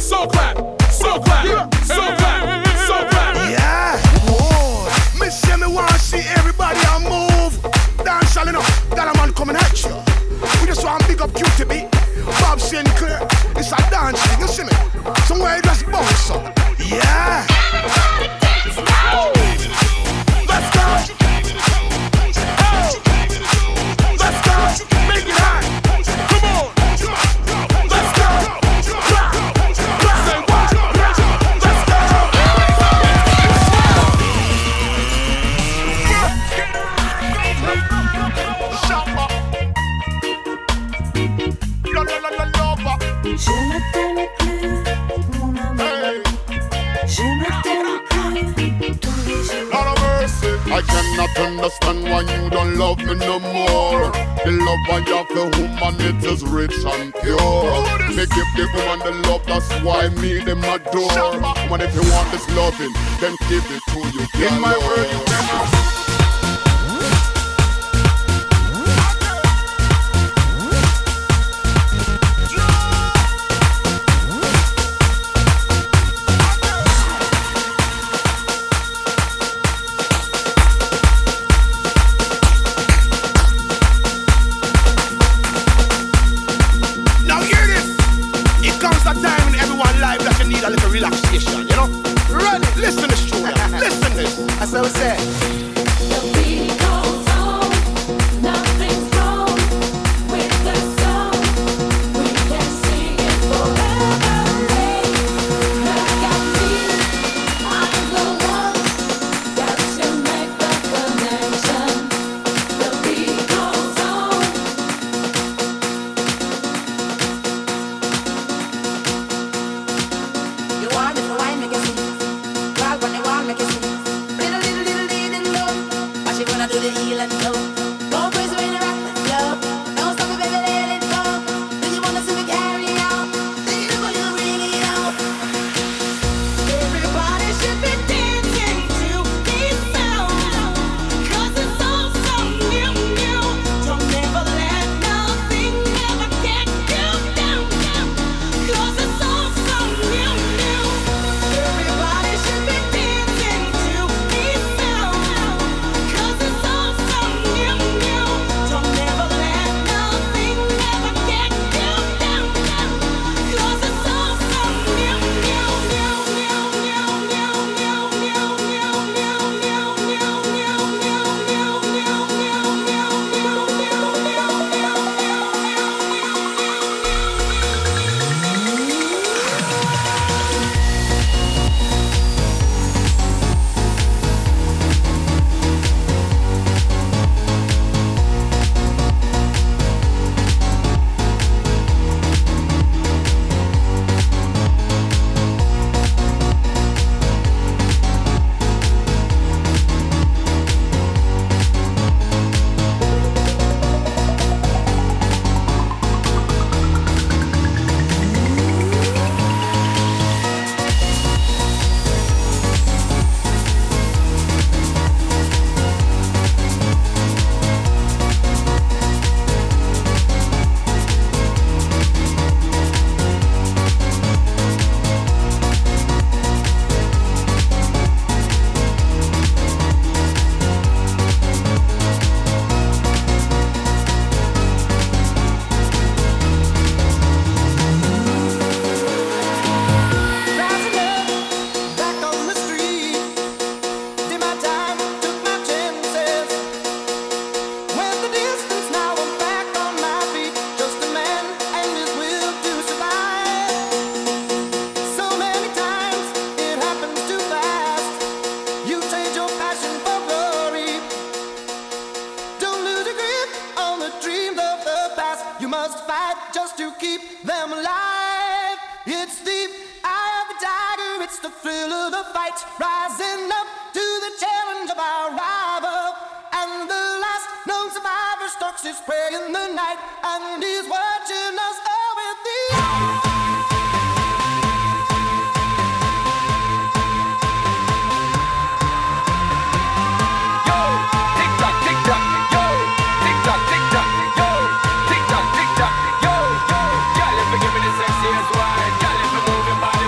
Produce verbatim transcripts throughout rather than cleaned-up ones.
so clap, so clap, so clap, so clap. Yeah, whoa. Me say me want to see everybody a move. Dance all enough, that a man coming at you. We just want to big up Q T B, Bob Sinclair. It's a dance thing, you see me? Somewhere you just bounce up. Yeah. Everybody dance now. Let's go. Oh. Let's go. Make it hot. Come on. Let's go. Rock. Rock. Say what? Let's go. Shopper. La la la la lova. Je ne t'aime plus, mon amour. Je ne t'aime plus tous les jours. Lord of mercy, I cannot understand why you don't love me no more. The love I have for woman, it is rich and pure. Me give the woman the love, that's why me them adore. Woman, if you want this loving, then give it to you. In my word, you cannot. Relaxation, you know? Run it, listen to this tune, listen to this. That's what I said. The beat goes on, nothing's wrong with the song. We can sing it forever. Hey, look at me, I'm the one. Got to make the connection. The beat goes on. You want me to wine, make it sing. Girl, when you want, make it sing. Little, little, little, little low. But she wanna do the heel and toe. Go crazy when you rock the flow. Don't stop it, baby, let it go. Do you wanna see me carry out? Do you know you bring it out? Everybody should be dancing to this sound. 'Cause it's all so new, new. Don't ever let nothing ever get you down, down. 'Cause it's all so new, new. Everybody should be dancing to this sound. 'Cause it's all so new, new. Don't ever let nothing ever get you down, down. 'Cause it's all so new, new, new, new, new, new, new, new, new, new, new, new, new, new, Give me the sexiest wine, girl, if you move your body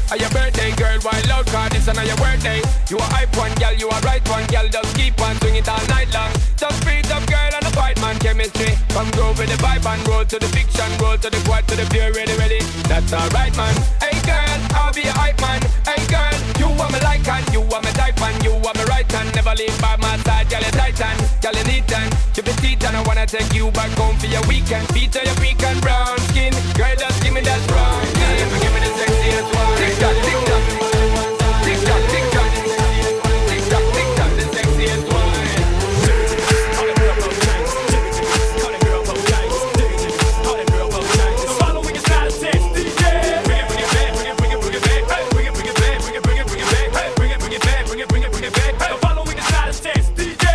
on your birthday, girl, wild out, cause this on your birthday. You a hype one, girl, you a right one, girl, just keep on swing it all night long. Just beat up, girl, and the fight man chemistry. Come groove with the vibe and roll to the fiction, roll to the quad, to the pure, ready, ready. That's alright, man. Hey, girl, I'll be a hype man. Hey, girl, you are my like and you are my type and you are my right hand. Never leave by my side, girl, you titan, girl, you neat and keep it teeth and I wanna take you back home for your weekend. Feature your pecan brown skin, girl, just give me that brown skin. Give me the sexiest one. Tick tock, tick tock, tick tock, tick tock, tick tock, tick tock, the sexiest one. All the girl both nights, all the girl both nights, all the girl both nights. The following is not a test, D J. Bring it, bring it back, bring it, bring it, bring it back, bring it, bring it back, bring it, bring it, bring it back, bring it, bring it back, bring it, bring it, bring it back. The following is not a test, D J.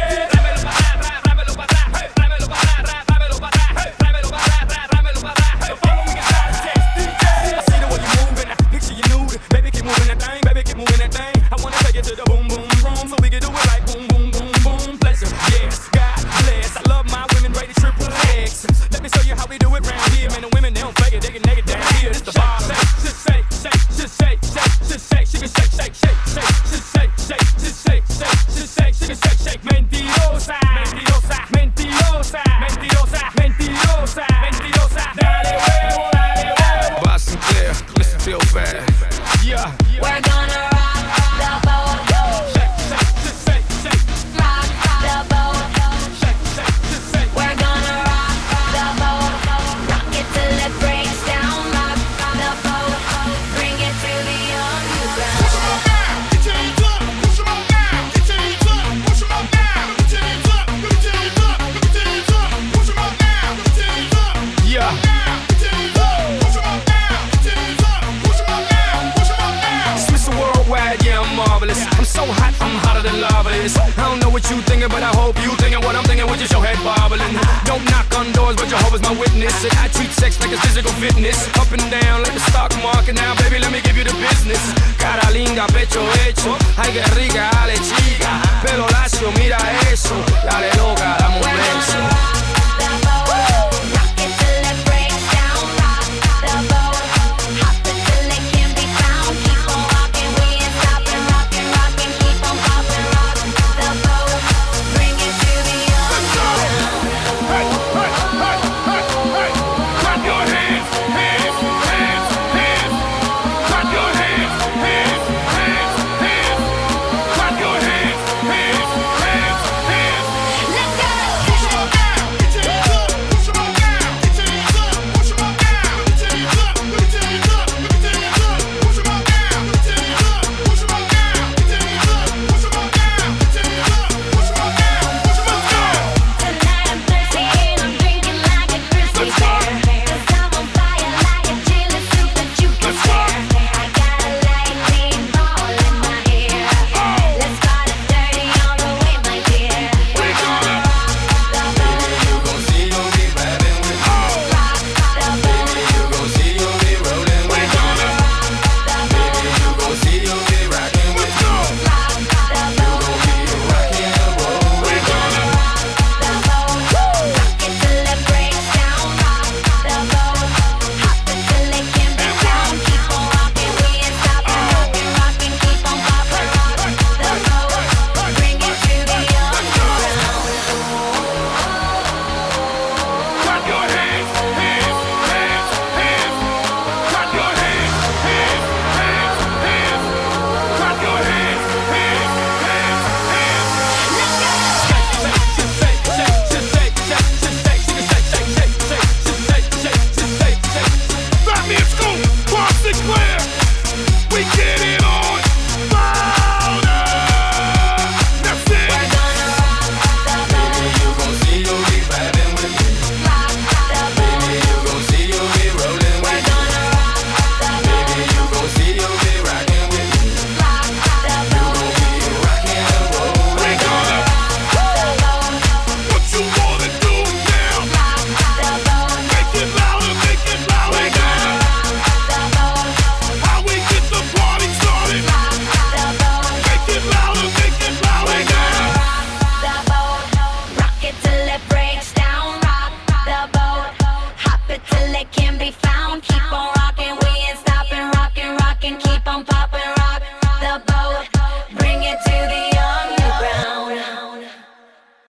To the boom boom room, so we can do it like boom boom boom boom. Pleasure, yes, God bless. I love my women rated triple X. Let me show you how we do it round here. Man, the women they don't fake it, they get naked down here. It's the bar. Just shake, shake, just shake, shake, just shake. She can shake, shake, shake, shake, just shake, shake, just shake, shake, just shake. She can shake, shake. Mentirosa, mentirosa, mentirosa, mentirosa, mentirosa, mentirosa. Dale huevo, dale huevo. Boss Sinclair, listen real fast. Yeah, We're gonna rock the boat. shake, shake, just shake, shake. Rock the boat. Shake, shake, just shake. We're gonna rock the boat. Rock it till it breaks down. Rock the boat. Bring it to the underground. Push 'em up now, get your hands up. Push 'em up now, get your hands up. Push 'em up now, get your hands up. Get your hands up, get your hands up. Push 'em up now, get your hands up. Yeah. Now, get your hands up. Push 'em up now, get your hands up. Push 'em up now, push 'em up now. Mister Worldwide, yeah, I'm marvelous. I'm so hot, I'm hotter than lava is. I don't know what you thinking, but I hope you thinking what I'm thinking, which is your head bobbling. Don't knock on doors, but Jehovah's my witness. And I treat sex like it's physical fitness. Up and down like the stock market. Now, baby, let me give you the business. Cara linda, pecho hecho. Ay, que rica,